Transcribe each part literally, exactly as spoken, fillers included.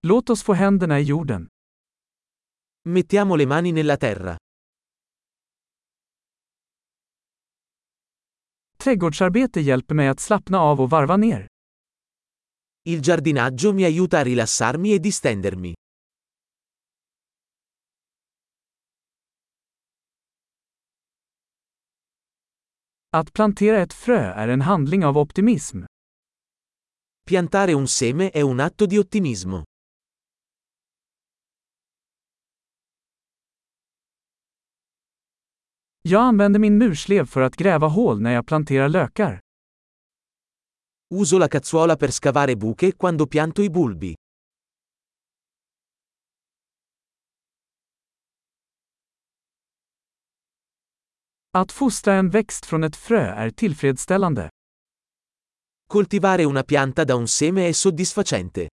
Låt oss få händerna i jorden. Mettiamo le mani nella terra. Trädgårdsarbete hjälper mig att slappna av och varva ner. Il giardinaggio mi aiuta a rilassarmi e distendermi. Att plantera ett frö är en handling av optimism. Piantare un seme è un atto di ottimismo. Jag använder min murslev för att gräva hål när jag planterar lökar. Uso la cazzuola per scavare buche quando pianto i bulbi. Att fostra en växt från ett frö är tillfredsställande. Coltivare una pianta da un seme è soddisfacente.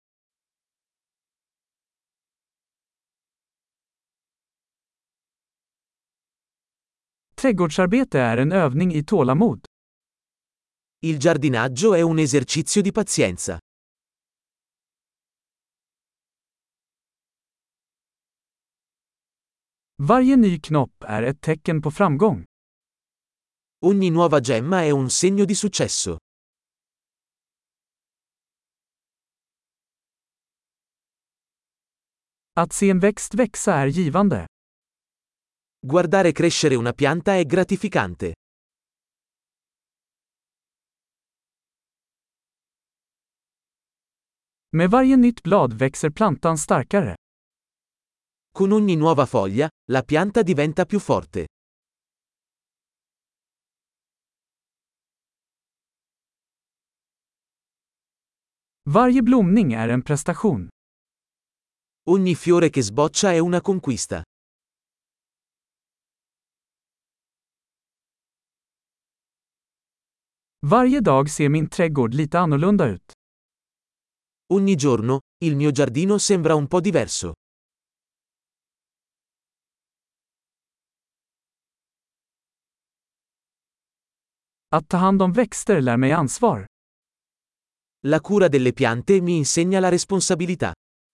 Trädgårdsarbete är en övning i tålamod. Il giardinaggio è un esercizio di pazienza. Varje ny knopp är ett tecken på framgång. Ogni nuova gemma è un segno di successo. Att se en växt växa är givande. Guardare crescere una pianta è gratificante. Med varje nytt blad växer plantan starkare. Con ogni nuova foglia, la pianta diventa più forte. Varje blomning är en prestation. Ogni fiore che sboccia è una conquista. Varje dag ser min trädgård lite annorlunda ut. Ogni giorno, il mio giardino sembra un po' diverso. Att ta hand om växter lär mig ansvar. La cura delle piante mi insegna la responsabilità.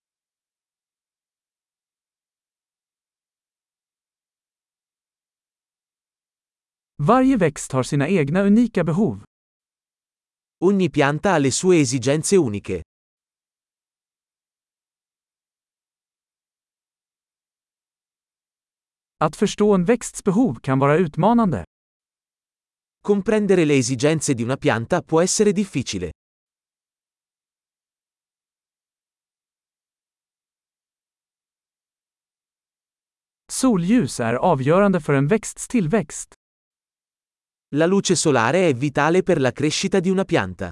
Varje växt har sina egna unika behov. Ogni pianta ha le sue esigenze uniche. Att förstå en växts behov kan vara utmanande. Comprendere le esigenze di una pianta può essere difficile. Solljus är avgörande för en växts tillväxt. La luce solare è vitale per la crescita di una pianta.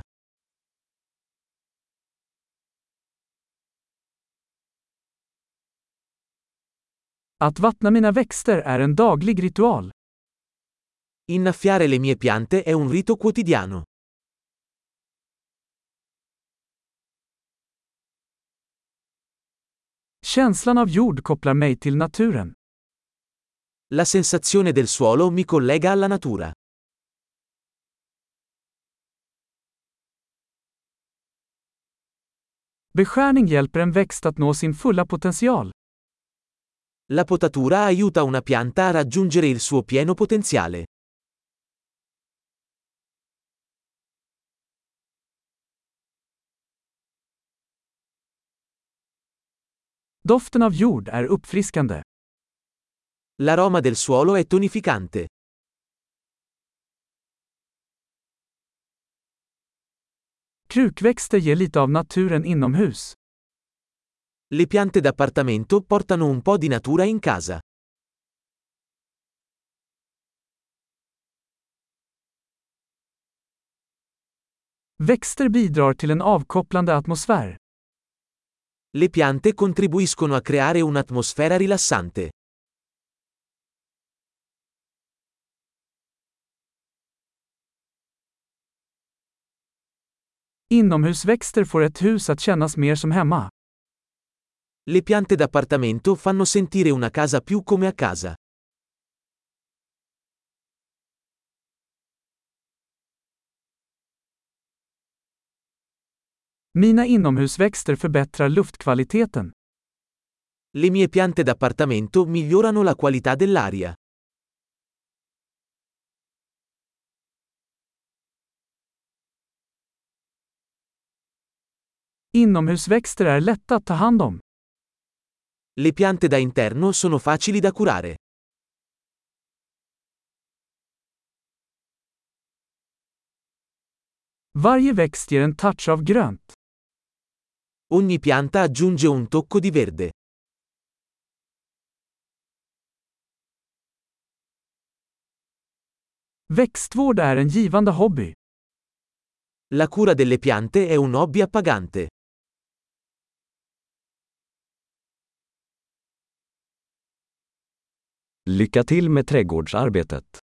Att vattna mina växter är en daglig ritual. Innaffiare le mie piante è un rito quotidiano. Känslan av jord kopplar mig till naturen. La sensazione del suolo mi collega alla natura. Beskärning hjälper en växt att nå sin fulla potential. La potatura aiuta una pianta a raggiungere il suo pieno potenziale. Doften av jord är uppfriskande. L'aroma del suolo è tonificante. Krukväxter ger lite av naturen inomhus. Le piante d'appartamento portano un po' di natura in casa. Växter bidrar till en avkopplande atmosfär. Le piante contribuiscono a creare un'atmosfera rilassante. Inomhusväxter får ett hus att kännas mer som hemma. Le piante d'appartamento fanno sentire una casa più come a casa. Mina inomhusväxter förbättrar luftkvaliteten. Le mie piante d'appartamento migliorano la qualità dell'aria. Inomhusväxter är lätta att ta hand om. Le piante da interno sono facili da curare. Varje växt ger en touch av grönt. Ogni pianta aggiunge un tocco di verde. Växtvård är en givande hobby. La cura delle piante è un hobby appagante. Lycka till med trädgårdsarbetet.